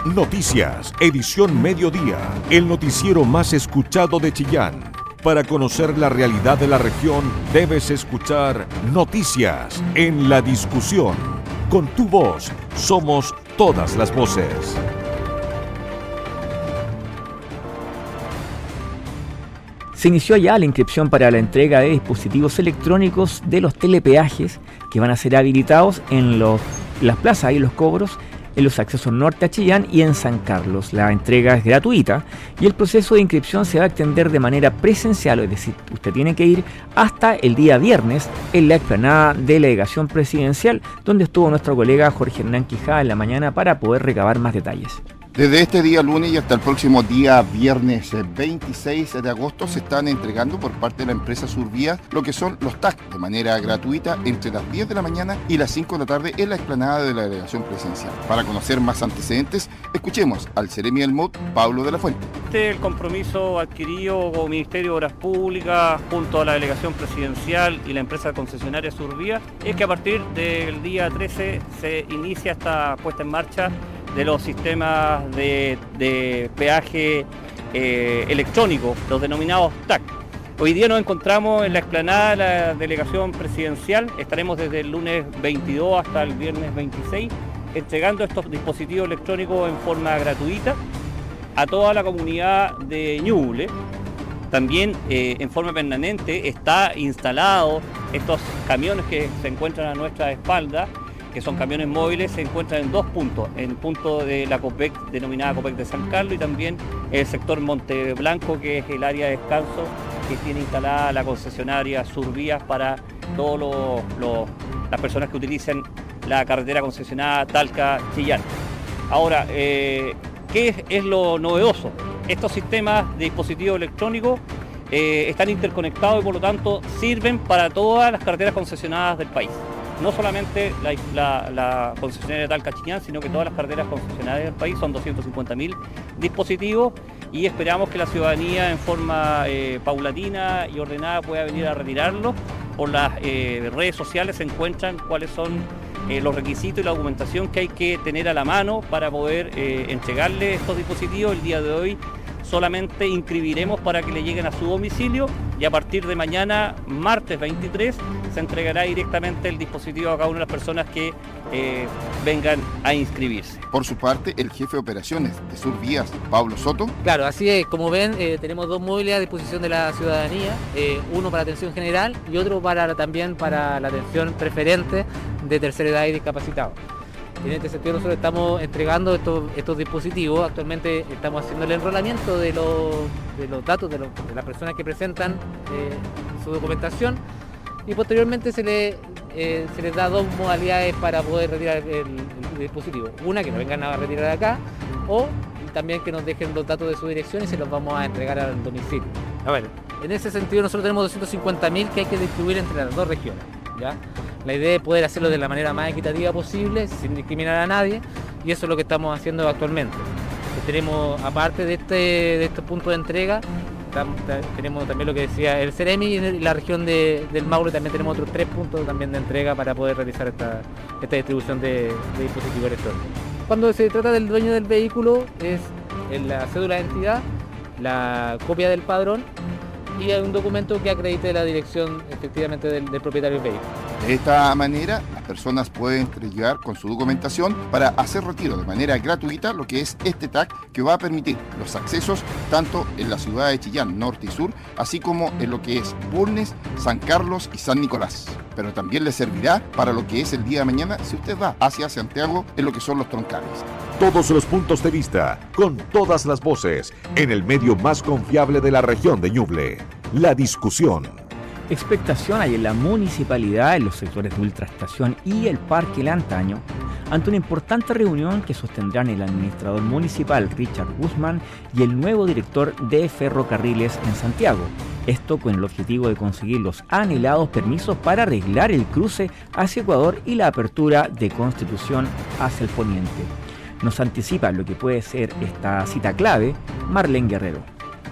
Noticias, edición mediodía, el noticiero más escuchado de Chillán. Para conocer la realidad de la región, debes escuchar Noticias en la discusión. Con tu voz, somos todas las voces. Se inició ya la inscripción para la entrega de dispositivos electrónicos de los telepeajes que van a ser habilitados en las plazas y los cobros en los accesos norte a Chillán y en San Carlos. La entrega es gratuita y el proceso de inscripción se va a extender de manera presencial, es decir, usted tiene que ir hasta el día viernes en la explanada de la delegación presidencial, donde estuvo nuestro colega Jorge Hernán Quijada en la mañana para poder recabar más detalles. Desde este día lunes y hasta el próximo día viernes 26 de agosto se están entregando por parte de la empresa Survías lo que son los TAC de manera gratuita entre las 10 de la mañana y las 5 de la tarde en la explanada de la delegación presidencial. Para conocer más antecedentes, escuchemos al Seremi del MOD, Pablo de la Fuente. El compromiso adquirido con el Ministerio de Obras Públicas junto a la delegación presidencial y la empresa concesionaria Survías es que a partir del día 13 se inicia esta puesta en marcha de los sistemas de peaje electrónico, los denominados TAC. Hoy día nos encontramos en la explanada de la delegación presidencial, estaremos desde el lunes 22 hasta el viernes 26 entregando estos dispositivos electrónicos en forma gratuita a toda la comunidad de Ñuble. También en forma permanente está instalado estos camiones que se encuentran a nuestra espalda, que son camiones móviles, se encuentran en dos puntos, en el punto de la COPEC, denominada COPEC de San Carlos, y también el sector Monte Blanco, que es el área de descanso que tiene instalada la concesionaria Survías para todas las personas que utilicen la carretera concesionada Talca-Chillán. Ahora, ¿qué es lo novedoso? Estos sistemas de dispositivos electrónicos están interconectados y por lo tanto sirven para todas las carreteras concesionadas del país. No solamente la concesionaria de Talca-Chillán, sino que todas las carreteras concesionarias del país. Son 250.000 dispositivos y esperamos que la ciudadanía en forma paulatina y ordenada pueda venir a retirarlos. Por las redes sociales se encuentran cuáles son los requisitos y la documentación que hay que tener a la mano para poder entregarle estos dispositivos. El día de hoy solamente inscribiremos para que le lleguen a su domicilio y a partir de mañana, martes 23, se entregará directamente el dispositivo a cada una de las personas que vengan a inscribirse. Por su parte, el jefe de operaciones de Survías, Pablo Soto. Claro, así es, como ven, tenemos dos móviles a disposición de la ciudadanía, uno para atención general y otro también para la atención preferente de tercera edad y discapacitados. En este sentido nosotros estamos entregando estos dispositivos. Actualmente estamos haciendo el enrolamiento de los datos de las personas que presentan su documentación y posteriormente se les da dos modalidades para poder retirar el dispositivo. Una, que nos vengan a retirar acá, o también que nos dejen los datos de su dirección y se los vamos a entregar al domicilio. A ver, en ese sentido nosotros tenemos 250.000 que hay que distribuir entre las dos regiones, ¿ya? La idea es poder hacerlo de la manera más equitativa posible, sin discriminar a nadie, y eso es lo que estamos haciendo actualmente. Tenemos, aparte de estos puntos de entrega, tenemos también lo que decía el Seremi y en la región del Maule también tenemos otros 3 puntos también de entrega para poder realizar esta distribución de dispositivos electrónicos. Cuando se trata del dueño del vehículo es la cédula de identidad, la copia del padrón y hay un documento que acredite la dirección efectivamente del propietario del vehículo. De esta manera, las personas pueden entregar con su documentación para hacer retiro de manera gratuita lo que es este TAC, que va a permitir los accesos tanto en la ciudad de Chillán, norte y sur, así como en lo que es Bulnes, San Carlos y San Nicolás. Pero también le servirá para lo que es el día de mañana si usted va hacia Santiago en lo que son los troncales. Todos los puntos de vista, con todas las voces, en el medio más confiable de la región de Ñuble. La discusión. Expectación hay en la municipalidad, en los sectores de Ultraestación y el Parque Lantaño, ante una importante reunión que sostendrán el administrador municipal Richard Guzmán y el nuevo director de Ferrocarriles en Santiago. Esto con el objetivo de conseguir los anhelados permisos para arreglar el cruce hacia Ecuador y la apertura de Constitución hacia el poniente. Nos anticipa lo que puede ser esta cita clave Marlene Guerrero.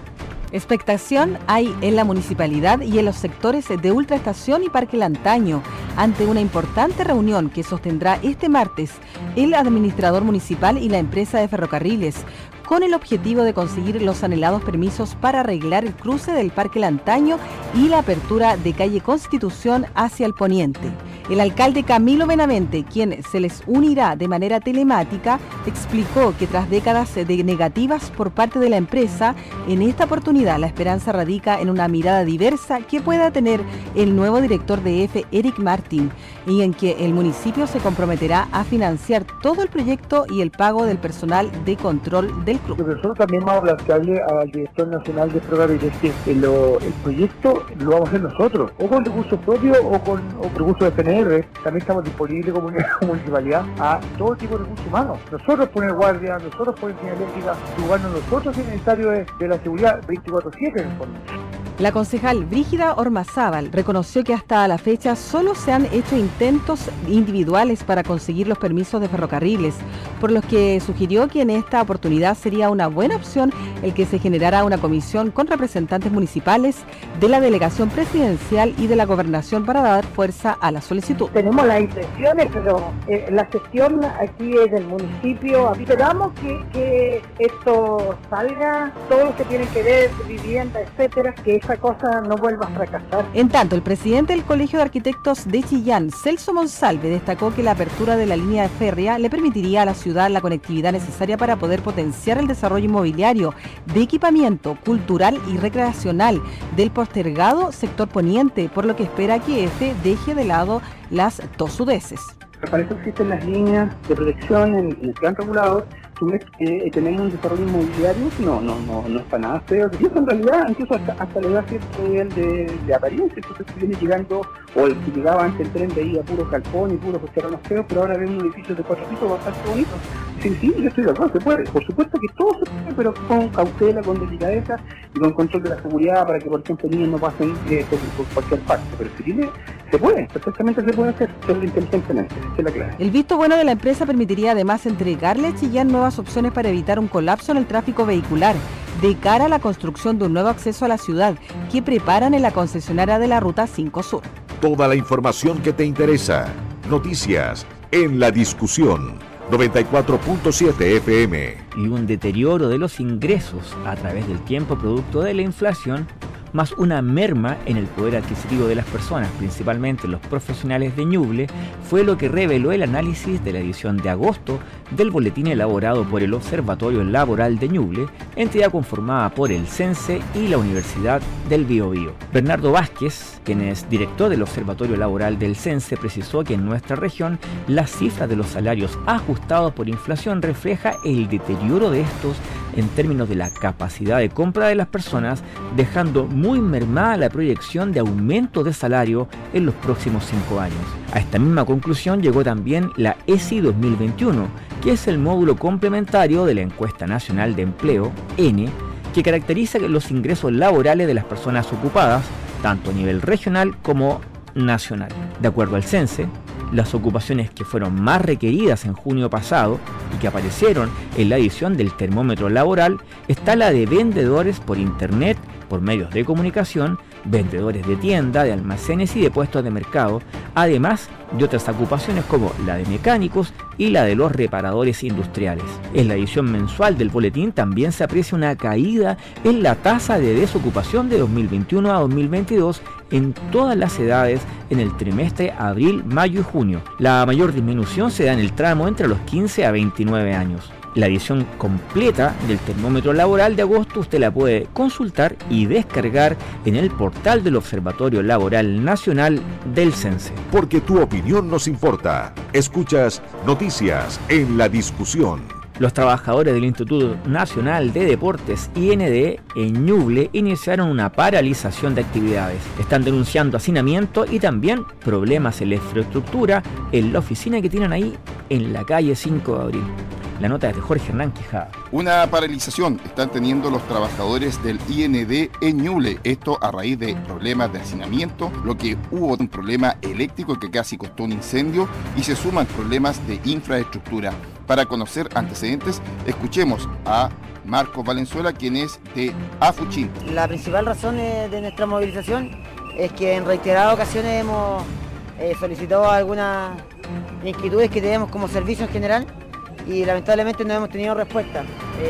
Expectación hay en la municipalidad y en los sectores de Ultraestación y Parque Lantaño ante una importante reunión que sostendrá este martes el administrador municipal y la empresa de ferrocarriles, con el objetivo de conseguir los anhelados permisos para arreglar el cruce del Parque Lantaño y la apertura de calle Constitución hacia el poniente. El alcalde Camilo Benavente, quien se les unirá de manera telemática, explicó que tras décadas de negativas por parte de la empresa, en esta oportunidad la esperanza radica en una mirada diversa que pueda tener el nuevo director de EFE, Eric Martín, y en que el municipio se comprometerá a financiar todo el proyecto y el pago del personal de control del club. Nosotros también vamos a plantearle al director nacional de ferrocarriles que el proyecto lo vamos a hacer nosotros, o con recursos propios o con recursos de PNR. También estamos disponibles como municipalidad a todo tipo de recursos humanos. Nosotros poner guardia, nosotros poner señalética, jugarnos nosotros en el estadio de la seguridad 24/7 en el fondo. La concejal Brígida Ormazábal reconoció que hasta la fecha solo se han hecho intentos individuales para conseguir los permisos de ferrocarriles, por lo que sugirió que en esta oportunidad sería una buena opción el que se generara una comisión con representantes municipales de la delegación presidencial y de la gobernación para dar fuerza a la solicitud. Tenemos las intenciones, pero la gestión aquí es del municipio. Esperamos que esto salga, todo lo que tiene que ver, vivienda, etcétera, que esa cosa no vuelva a fracasar. En tanto, el presidente del Colegio de Arquitectos de Chillán, Celso Monsalve, destacó que la apertura de la línea férrea le permitiría a la ciudad la conectividad necesaria para poder potenciar el desarrollo inmobiliario, de equipamiento cultural y recreacional del postergado sector poniente, por lo que espera que EFE deje de lado las tosudeces. Para eso existen las líneas de protección en el plan regulador. Tú ves que tenemos un desarrollo inmobiliario, no es para nada feo. Y eso en realidad incluso hasta le da cierto nivel de apariencia. Entonces se viene llegando, o el que llegaba antes el tren veía puros galpones y puros terrenos feos, pero ahora vemos un edificio de 4 pisos bastante bonito. Sí, yo estoy de acuerdo, se puede. Por supuesto que todo se puede, pero con cautela, con delicadeza y con control de la seguridad para que, por ejemplo, niños no pasen por cualquier parte. Pero si se puede, perfectamente se puede hacer, hacerlo inteligentemente, esa es la clave. El visto bueno de la empresa permitiría además entregarle a Chillán nuevas opciones para evitar un colapso en el tráfico vehicular, de cara a la construcción de un nuevo acceso a la ciudad que preparan en la concesionaria de la Ruta 5 Sur. Toda la información que te interesa. Noticias en la discusión. 94.7 FM. Y un deterioro de los ingresos a través del tiempo producto de la inflación, más una merma en el poder adquisitivo de las personas, principalmente los profesionales de Ñuble, fue lo que reveló el análisis de la edición de agosto del boletín elaborado por el Observatorio Laboral de Ñuble, entidad conformada por el CENSE y la Universidad del Biobío. Bernardo Vázquez, quien es director del Observatorio Laboral del CENSE, precisó que en nuestra región las cifras de los salarios ajustados por inflación refleja el deterioro de estos en términos de la capacidad de compra de las personas, dejando muy mermada la proyección de aumento de salario en los próximos 5 años. A esta misma conclusión llegó también la ESI 2021, que es el módulo complementario de la Encuesta Nacional de Empleo, ENE, que caracteriza los ingresos laborales de las personas ocupadas, tanto a nivel regional como nacional. De acuerdo al CENSE, las ocupaciones que fueron más requeridas en junio pasado y que aparecieron en la edición del termómetro laboral está la de vendedores por internet, por medios de comunicación, vendedores de tienda, de almacenes y de puestos de mercado, además de otras ocupaciones como la de mecánicos y la de los reparadores industriales. En la edición mensual del boletín también se aprecia una caída en la tasa de desocupación de 2021 a 2022 en todas las edades en el trimestre abril, mayo y junio. La mayor disminución se da en el tramo entre los 15 a 29 años. La edición completa del termómetro laboral de agosto usted la puede consultar y descargar en el portal del Observatorio Laboral Nacional del CENSE. Porque tu opinión nos importa. Escuchas Noticias en la discusión. Los trabajadores del Instituto Nacional de Deportes, IND, en Ñuble, iniciaron una paralización de actividades. Están denunciando hacinamiento y también problemas en la infraestructura en la oficina que tienen ahí en la calle 5 de abril. La nota es de Jorge Hernán Quijada. Una paralización están teniendo los trabajadores del IND en Ñuble. Esto a raíz de problemas de hacinamiento, lo que hubo un problema eléctrico que casi costó un incendio y se suman problemas de infraestructura. Para conocer antecedentes, escuchemos a Marcos Valenzuela, quien es de Afuchín. La principal razón de nuestra movilización es que en reiteradas ocasiones hemos solicitado algunas inquietudes que tenemos como servicio en general y lamentablemente no hemos tenido respuesta.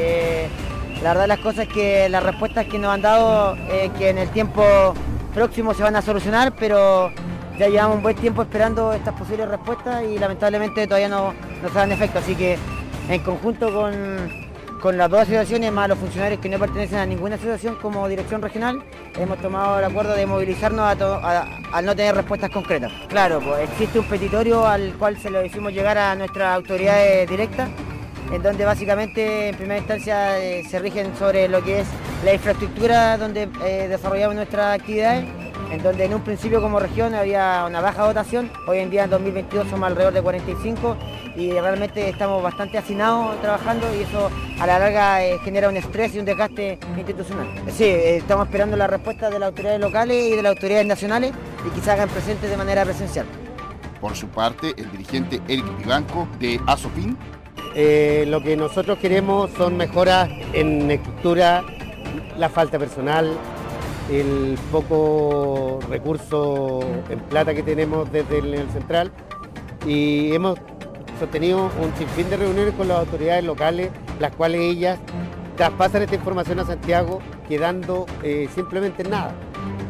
La verdad de las cosas es que las respuestas que nos han dado que en el tiempo próximo se van a solucionar, pero ya llevamos un buen tiempo esperando estas posibles respuestas y lamentablemente todavía no se dan efecto, así que en conjunto con las dos asociaciones más los funcionarios que no pertenecen a ninguna asociación como dirección regional, hemos tomado el acuerdo de movilizarnos al no tener respuestas concretas. Claro, pues existe un petitorio al cual se lo hicimos llegar a nuestras autoridades directas, en donde básicamente en primera instancia se rigen sobre lo que es la infraestructura donde desarrollamos nuestras actividades, en donde en un principio como región había una baja dotación, hoy en día en 2022 somos alrededor de 45 y realmente estamos bastante hacinados trabajando y eso a la larga genera un estrés y un desgaste institucional. Sí, estamos esperando la respuesta de las autoridades locales y de las autoridades nacionales y que se hagan presentes de manera presencial. Por su parte, el dirigente Eric Vivanco de Asopin. Lo que nosotros queremos son mejoras en estructura, la falta de personal, el poco recurso en plata que tenemos desde el central y hemos sostenido un sinfín de reuniones con las autoridades locales, las cuales ellas traspasan esta información a Santiago quedando simplemente en nada.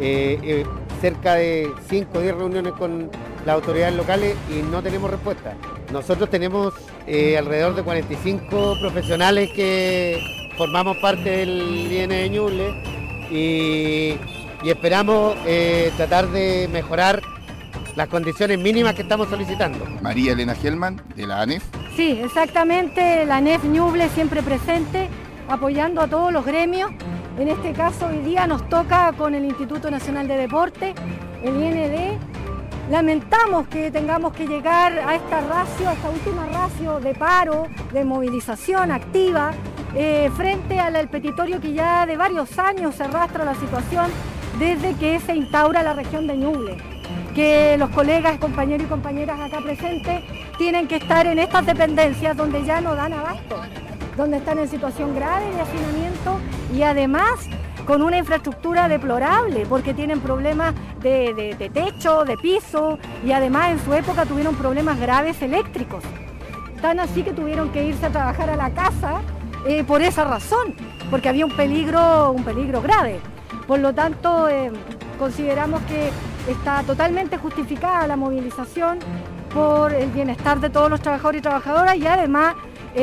Cerca de 5 o 10 reuniones con las autoridades locales y no tenemos respuesta. Nosotros tenemos alrededor de 45 profesionales que formamos parte del IN de Ñuble y esperamos tratar de mejorar las condiciones mínimas que estamos solicitando. María Elena Gelman, de la ANEF. Sí, exactamente, la ANEF Ñuble siempre presente, apoyando a todos los gremios. En este caso hoy día nos toca con el Instituto Nacional de Deporte, el IND. Lamentamos que tengamos que llegar a esta última ratio de paro, de movilización activa, frente al petitorio que ya de varios años se arrastra la situación desde que se instaura la región de Ñuble. Que los colegas, compañeros y compañeras acá presentes tienen que estar en estas dependencias donde ya no dan abasto, donde están en situación grave de hacinamiento y además con una infraestructura deplorable porque tienen problemas de techo, de piso y además en su época tuvieron problemas graves eléctricos. Tan así que tuvieron que irse a trabajar a la casa por esa razón, porque había un peligro grave. Por lo tanto, consideramos que está totalmente justificada la movilización por el bienestar de todos los trabajadores y trabajadoras y además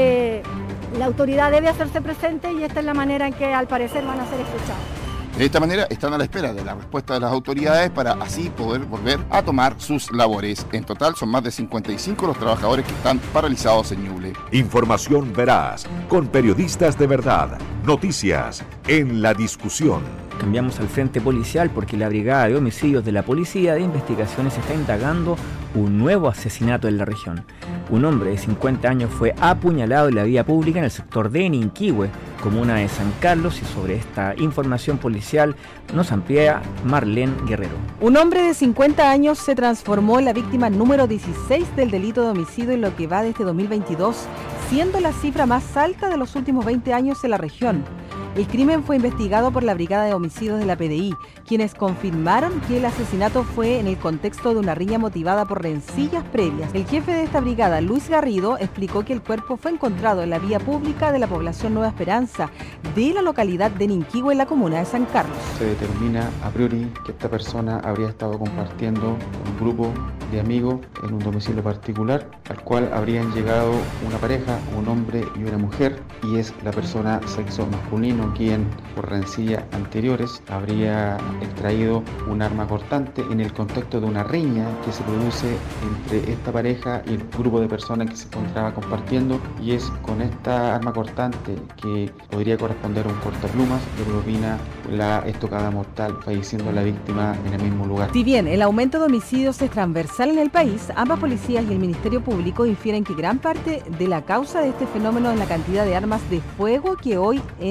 la autoridad debe hacerse presente y esta es la manera en que al parecer van a ser escuchados. De esta manera están a la espera de la respuesta de las autoridades para así poder volver a tomar sus labores. En total son más de 55 los trabajadores que están paralizados en Ñuble. Información veraz, con periodistas de verdad. Noticias en la discusión. Cambiamos al frente policial porque la Brigada de Homicidios de la Policía de Investigaciones está indagando un nuevo asesinato en la región. Un hombre de 50 años fue apuñalado en la vía pública en el sector de Ninquihue, comuna de San Carlos, y sobre esta información policial nos amplía Marlene Guerrero. Un hombre de 50 años se transformó en la víctima número 16 del delito de homicidio en lo que va de este 2022, siendo la cifra más alta de los últimos 20 años en la región. El crimen fue investigado por la Brigada de Homicidios de la PDI, quienes confirmaron que el asesinato fue en el contexto de una riña motivada por rencillas previas. El jefe de esta brigada, Luis Garrido, explicó que el cuerpo fue encontrado en la vía pública de la población Nueva Esperanza, de la localidad de Ninquihue, en la comuna de San Carlos. Se determina a priori que esta persona habría estado compartiendo un grupo de amigos en un domicilio particular, al cual habrían llegado una pareja, un hombre y una mujer, y es la persona sexo masculino quien, por rencillas anteriores, habría extraído un arma cortante en el contexto de una riña que se produce entre esta pareja y el grupo de personas que se encontraba compartiendo, y es con esta arma cortante que podría corresponder a un cortaplumas que propina la estocada mortal, falleciendo la víctima en el mismo lugar. Si bien el aumento de homicidios es transversal en el país, ambas policías y el Ministerio Público infieren que gran parte de la causa de este fenómeno es la cantidad de armas de fuego que hoy en día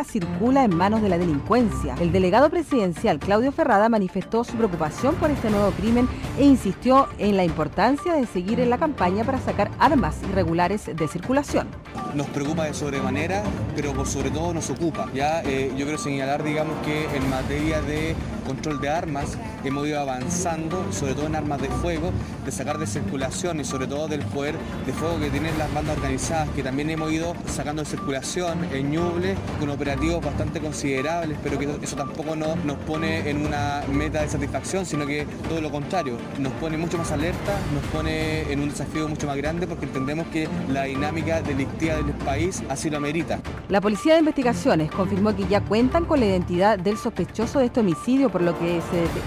droga circula en manos de la delincuencia. El delegado presidencial Claudio Ferrada manifestó su preocupación por este nuevo crimen e insistió en la importancia de seguir en la campaña para sacar armas irregulares de circulación. Nos preocupa de sobremanera, pero por sobre todo nos ocupa. Yo quiero señalar, digamos, que en materia de control de armas hemos ido avanzando, sobre todo en armas de fuego, de sacar de circulación y sobre todo del poder de fuego que tienen las bandas organizadas, que también hemos ido sacando de circulación en Ñuble con operativos bastante considerables, pero que eso tampoco nos pone en una meta de satisfacción, sino que todo lo contrario, nos pone mucho más alerta, nos pone en un desafío mucho más grande porque entendemos que la dinámica delictiva del país así lo amerita. La Policía de Investigaciones confirmó que ya cuentan con la identidad del sospechoso de este homicidio, por lo que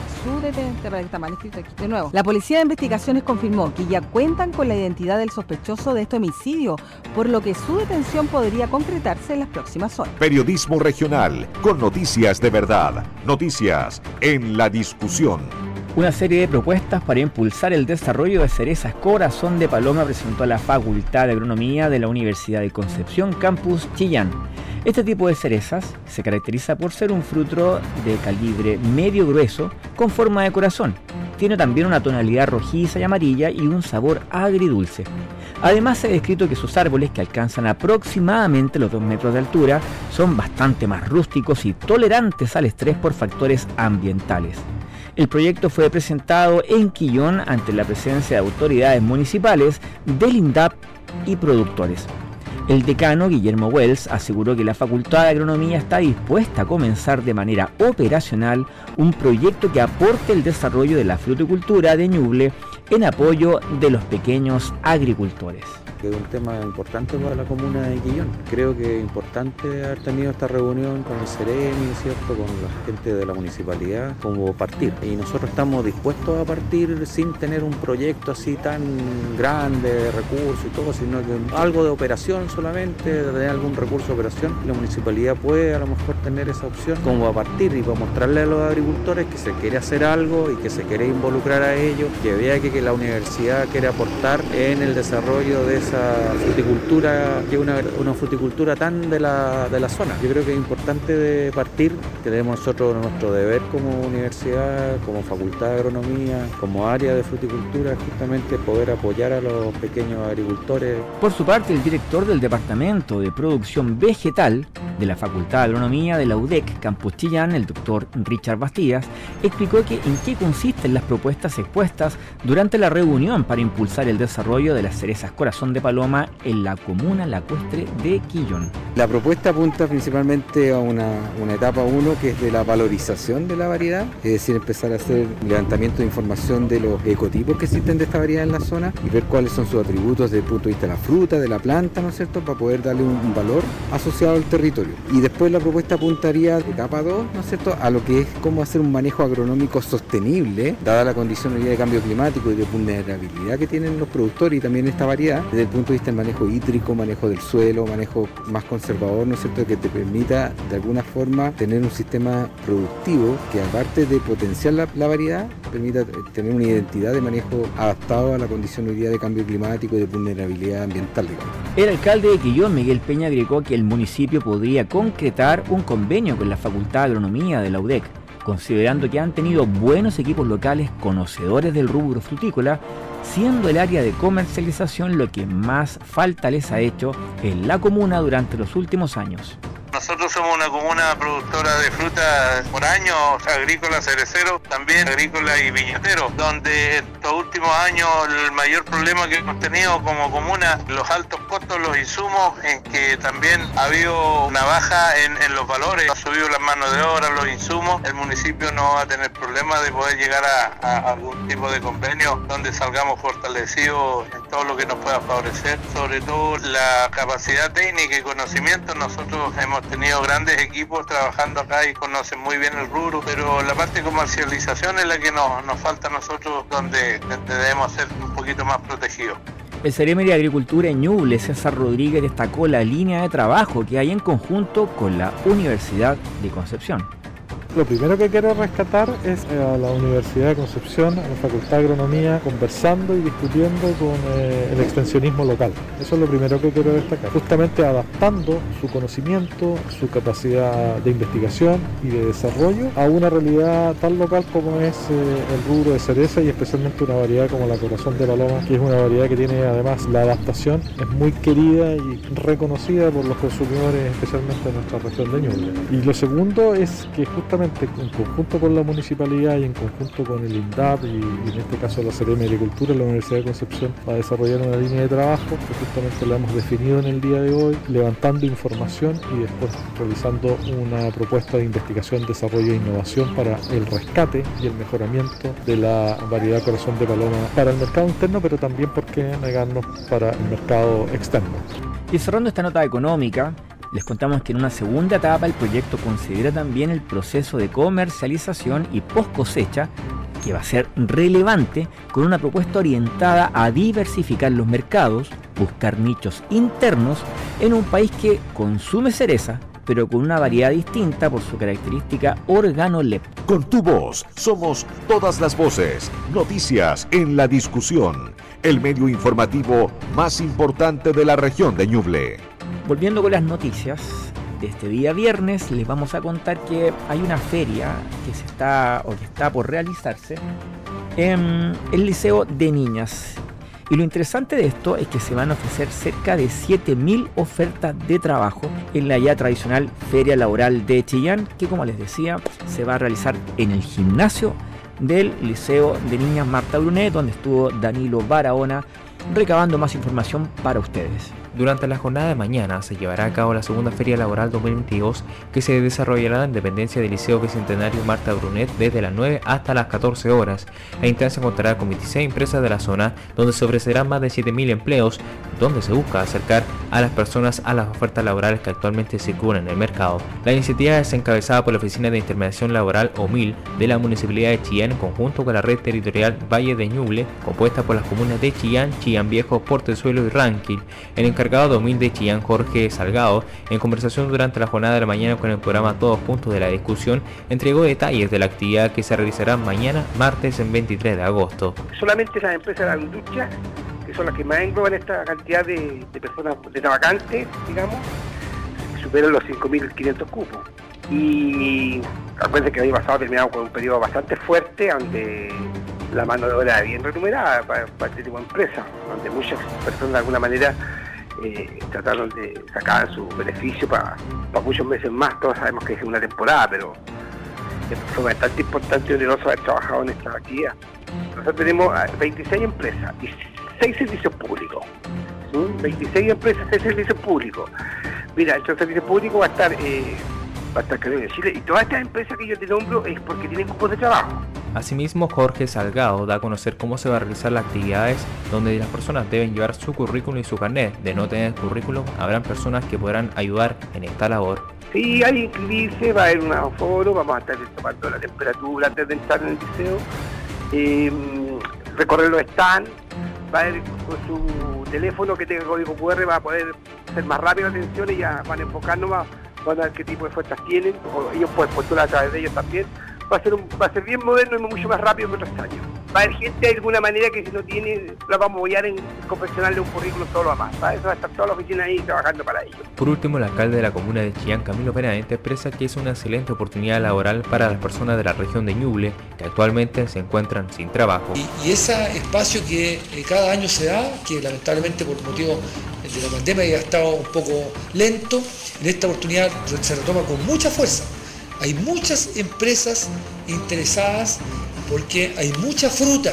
La Policía de Investigaciones confirmó que ya cuentan con la identidad del sospechoso de este homicidio, por lo que su detención podría concretarse en las próximas horas. Periodismo regional, con noticias de verdad. Noticias en la discusión. Una serie de propuestas para impulsar el desarrollo de cerezas corazón de paloma presentó a la Facultad de Agronomía de la Universidad de Concepción, Campus Chillán. Este tipo de cerezas se caracteriza por ser un fruto de calibre medio grueso con forma de corazón. Tiene también una tonalidad rojiza y amarilla y un sabor agridulce. Además, se ha descrito que sus árboles, que alcanzan aproximadamente los 2 metros de altura, son bastante más rústicos y tolerantes al estrés por factores ambientales. El proyecto fue presentado en Quillón ante la presencia de autoridades municipales, del INDAP y productores. El decano, Guillermo Wells, aseguró que la Facultad de Agronomía está dispuesta a comenzar de manera operacional un proyecto que aporte el desarrollo de la fruticultura de Ñuble en apoyo de los pequeños agricultores. Es un tema importante para la comuna de Quillón. Creo que es importante haber tenido esta reunión con el Ceremi, ¿cierto?, con la gente de la municipalidad, como partir. Y nosotros estamos dispuestos a partir sin tener un proyecto así tan grande de recursos y todo, sino que algo de operación solamente, de tener algún recurso de operación. La municipalidad puede a lo mejor tener esa opción como a partir y para mostrarle a los agricultores que se quiere hacer algo y que se quiere involucrar a ellos, que vea que la universidad quiere aportar en el desarrollo de esa fruticultura, que es una fruticultura tan de la zona. Yo creo que es importante de partir, que tenemos nosotros nuestro deber como universidad, como Facultad de Agronomía, como área de fruticultura, justamente poder apoyar a los pequeños agricultores. Por su parte, el director del Departamento de Producción Vegetal de la Facultad de Agronomía de la UDEC, Campus Chillán, el doctor Richard Bastías, explicó en qué consisten las propuestas expuestas durante la reunión para impulsar el desarrollo de las cerezas corazón de paloma en la comuna lacustre de Quillón. La propuesta apunta principalmente a una etapa 1, que es de la valorización de la variedad, es decir, empezar a hacer levantamiento de información de los ecotipos que existen de esta variedad en la zona y ver cuáles son sus atributos desde el punto de vista de la fruta, de la planta, ¿no es cierto?, para poder darle un valor asociado al territorio. Y después la propuesta apuntaría, etapa 2, ¿no es cierto?, a lo que es cómo hacer un manejo agronómico sostenible, dada la condición hoy día de cambio climático y de vulnerabilidad que tienen los productores y también esta variedad, desde el punto de vista del manejo hídrico, manejo del suelo, manejo más conservador, ¿no es cierto?, que te permita de alguna forma tener un sistema productivo que, aparte de potenciar la variedad, permita tener una identidad de manejo adaptado a la condición hoy día de cambio climático y de vulnerabilidad ambiental, digamos. El alcalde de Quillón, Miguel Peña, agregó que el municipio podría concretar un convenio con la Facultad de Agronomía de la UDEC, considerando que han tenido buenos equipos locales conocedores del rubro frutícola, siendo el área de comercialización lo que más falta les ha hecho en la comuna durante los últimos años. Nosotros somos una comuna productora de frutas por año, agrícola, cerecero, también agrícola y viñatero, donde estos últimos años el mayor problema que hemos tenido como comuna, los altos costos, los insumos, en que también ha habido una baja en los valores, ha subido la mano de obra, los insumos. El municipio no va a tener problema de poder llegar a algún tipo de convenio donde salgamos fortalecidos en todo lo que nos pueda favorecer, sobre todo la capacidad técnica y conocimiento. Nosotros hemos tenido grandes equipos trabajando acá y conocen muy bien el rubro, pero la parte de comercialización es la que nos falta a nosotros, donde debemos ser un poquito más protegidos. El Ceremi de Agricultura en Ñuble, César Rodríguez, destacó la línea de trabajo que hay en conjunto con la Universidad de Concepción. Lo primero que quiero rescatar es a la Universidad de Concepción, a la Facultad de Agronomía, conversando y discutiendo con el extensionismo local. Eso es lo primero que quiero destacar. Justamente adaptando su conocimiento, su capacidad de investigación y de desarrollo a una realidad tan local como es el rubro de cereza y especialmente una variedad como la Corazón de Paloma, que es una variedad que tiene además la adaptación, es muy querida y reconocida por los consumidores, especialmente en nuestra región de Ñuble. Y lo segundo es que justamente en conjunto con la municipalidad y en conjunto con el INDAP y en este caso la Seremi de Agricultura, la Universidad de Concepción va a desarrollar una línea de trabajo que justamente la hemos definido en el día de hoy, levantando información y después realizando una propuesta de investigación, desarrollo e innovación para el rescate y el mejoramiento de la variedad Corazón de Paloma para el mercado interno, pero también, ¿por qué negarnos, para el mercado externo? Y cerrando esta nota económica, les contamos que en una segunda etapa el proyecto considera también el proceso de comercialización y post cosecha, que va a ser relevante, con una propuesta orientada a diversificar los mercados, buscar nichos internos en un país que consume cereza, pero con una variedad distinta por su característica organoléptica. Con tu voz somos todas las voces. Noticias en la discusión. El medio informativo más importante de la región de Ñuble. Volviendo con las noticias de este día viernes, les vamos a contar que hay una feria que está por realizarse en el Liceo de Niñas. Y lo interesante de esto es que se van a ofrecer cerca de 7.000 ofertas de trabajo en la ya tradicional Feria Laboral de Chillán, que, como les decía, se va a realizar en el gimnasio del Liceo de Niñas Marta Brunet, donde estuvo Danilo Barahona recabando más información para ustedes. Durante la jornada de mañana se llevará a cabo la segunda Feria Laboral 2022, que se desarrollará en dependencia del Liceo Bicentenario Marta Brunet desde las 9 hasta las 14 horas. La instancia contará con 26 empresas de la zona, donde se ofrecerán más de 7.000 empleos, donde se busca acercar a las personas a las ofertas laborales que actualmente circulan en el mercado. La iniciativa es encabezada por la Oficina de Intermediación Laboral OMIL de la Municipalidad de Chillán, en conjunto con la Red Territorial Valle de Ñuble, compuesta por las comunas de Chillán, Chillán Viejo, Portezuelo y Rankin. El encargado de OMIL de Chillán, Jorge Salgado, en conversación durante la jornada de la mañana con el programa Todos Puntos de la Discusión, entregó detalles de la actividad que se realizará mañana, martes, en 23 de agosto. Solamente las empresas de la industria, que son las que más engloban esta cantidad de personas, de vacantes, digamos, superan los 5.500 cupos. Y acuérdense que el año pasado terminamos con un periodo bastante fuerte, donde la mano de obra bien remunerada para este tipo de empresas, donde muchas personas de alguna manera trataron de sacar su beneficio para muchos meses más. Todos sabemos que es una temporada, pero fue bastante importante y oneroso haber trabajado en esta actividad. Nosotros tenemos 26 empresas y 6 servicios públicos. 26 empresas, 6 servicios públicos. Mira, el servicio público va a estar Carolina de Chile, y todas estas empresas que yo te nombro es porque tienen cupos de trabajo. Asimismo, Jorge Salgado da a conocer cómo se va a realizar las actividades, donde las personas deben llevar su currículum y su carnet. De no tener currículum, habrán personas que podrán ayudar en esta labor. Sí, hay que inscribirse, va a haber un aforo, vamos a estar tomando la temperatura antes de entrar en el liceo, recorrer los stands, va a ir con su teléfono que tenga código QR, va a poder ser más rápido la atención y ya van a enfocarnos más, van a ver qué tipo de ofertas tienen, o ellos pueden postular a través de ellos también. Va a ser bien moderno y mucho más rápido que otros años. Va a haber gente de alguna manera que si no tiene, la vamos a apoyar en confeccionarle un currículum todo lo demás. Eso va a estar toda la oficina ahí trabajando para ello. Por último, el alcalde de la comuna de Chillán, Camilo Benavente, expresa que es una excelente oportunidad laboral para las personas de la región de Ñuble, que actualmente se encuentran sin trabajo. Y ese espacio que cada año se da, que lamentablemente por motivo de la pandemia ya ha estado un poco lento, en esta oportunidad se retoma con mucha fuerza. Hay muchas empresas interesadas porque hay mucha fruta,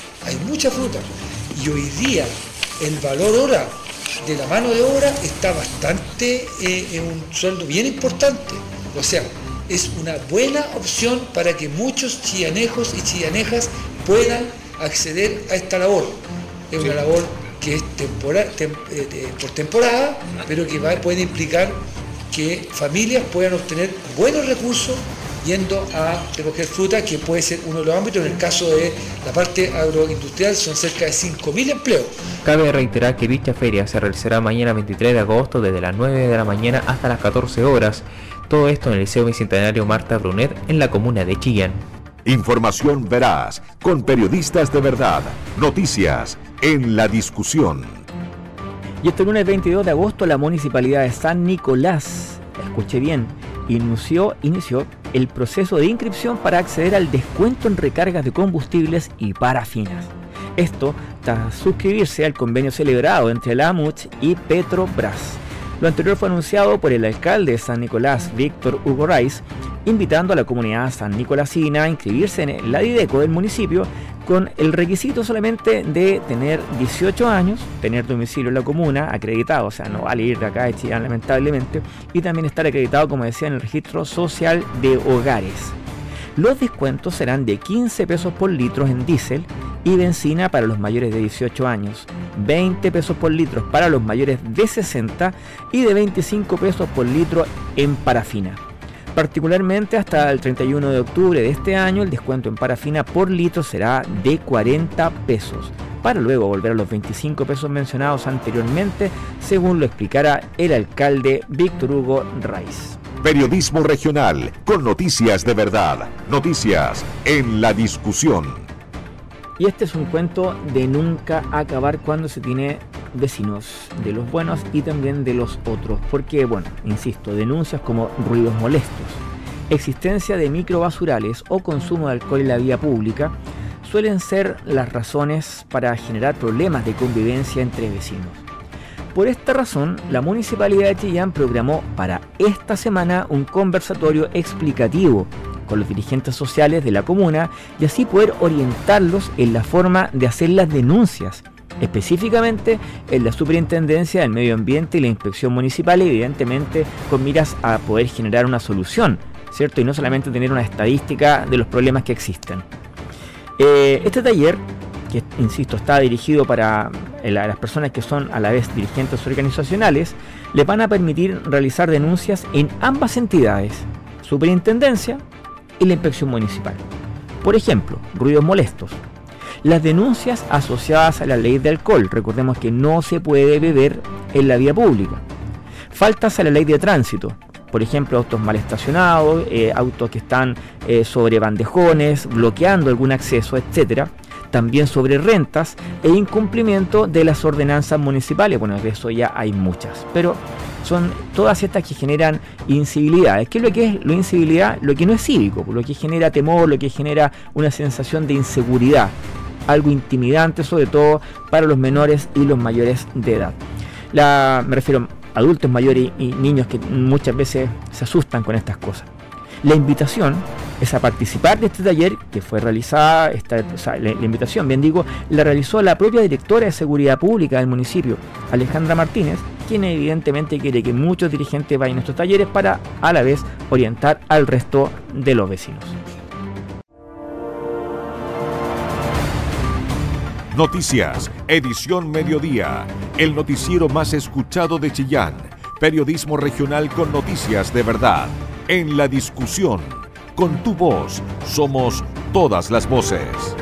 y hoy día el valor hora de la mano de obra está bastante en un sueldo bien importante, o sea, es una buena opción para que muchos chillanejos y chillanejas puedan acceder a esta labor. Es una labor que es por temporada, pero que puede implicar que familias puedan obtener buenos recursos yendo a recoger fruta, que puede ser uno de los ámbitos. En el caso de la parte agroindustrial son cerca de 5.000 empleos. Cabe reiterar que dicha feria se realizará mañana 23 de agosto desde las 9 de la mañana hasta las 14 horas. Todo esto en el Liceo Bicentenario Marta Brunet en la comuna de Chillán. Información veraz, con periodistas de verdad. Noticias en la discusión. Y este lunes 22 de agosto la Municipalidad de San Nicolás, escuche bien, inició el proceso de inscripción para acceder al descuento en recargas de combustibles y parafinas. Esto tras suscribirse al convenio celebrado entre la AMUCH y Petrobras. Lo anterior fue anunciado por el alcalde de San Nicolás, Víctor Hugo Raiz, invitando a la comunidad sannicolasina a inscribirse en la Dideco del municipio con el requisito solamente de tener 18 años, tener domicilio en la comuna, acreditado, o sea, no vale ir de acá de Chillán lamentablemente, y también estar acreditado, como decía, en el registro social de hogares. Los descuentos serán de 15 pesos por litro en diésel y benzina para los mayores de 18 años, 20 pesos por litro para los mayores de 60 y de 25 pesos por litro en parafina. Particularmente hasta el 31 de octubre de este año el descuento en parafina por litro será de 40 pesos, para luego volver a los 25 pesos mencionados anteriormente, según lo explicara el alcalde Víctor Hugo Raiz. Periodismo regional con noticias de verdad. Noticias en la discusión. Y este es un cuento de nunca acabar cuando se tiene vecinos, de los buenos y también de los otros, porque, bueno, insisto, denuncias como ruidos molestos, existencia de microbasurales o consumo de alcohol en la vía pública suelen ser las razones para generar problemas de convivencia entre vecinos. Por esta razón, la Municipalidad de Chillán programó para esta semana un conversatorio explicativo con los dirigentes sociales de la comuna y así poder orientarlos en la forma de hacer las denuncias, específicamente en la Superintendencia del Medio Ambiente y la Inspección Municipal, evidentemente con miras a poder generar una solución, ¿cierto? Y no solamente tener una estadística de los problemas que existen. Este taller, que insisto está dirigido para las personas que son a la vez dirigentes organizacionales, les van a permitir realizar denuncias en ambas entidades, Superintendencia y la Inspección Municipal. Por ejemplo, ruidos molestos. Las denuncias asociadas a la ley de alcohol, recordemos que no se puede beber en la vía pública. Faltas a la ley de tránsito, por ejemplo, autos mal estacionados, autos que están sobre bandejones, bloqueando algún acceso, etc. También sobre rentas e incumplimiento de las ordenanzas municipales. Bueno, de eso ya hay muchas, pero son todas estas que generan incivilidades. ¿Qué es lo que es la incivilidad? Lo que no es cívico, lo que genera temor, lo que genera una sensación de inseguridad, algo intimidante, sobre todo para los menores y los mayores de edad. Me refiero a adultos mayores y niños que muchas veces se asustan con estas cosas. La invitación es a participar de este taller que fue realizada, la invitación, bien digo, la realizó la propia directora de Seguridad Pública del municipio, Alejandra Martínez, quien evidentemente quiere que muchos dirigentes vayan a estos talleres para a la vez orientar al resto de los vecinos. Noticias, edición mediodía, el noticiero más escuchado de Chillán, periodismo regional con noticias de verdad, en la discusión, con tu voz, somos todas las voces.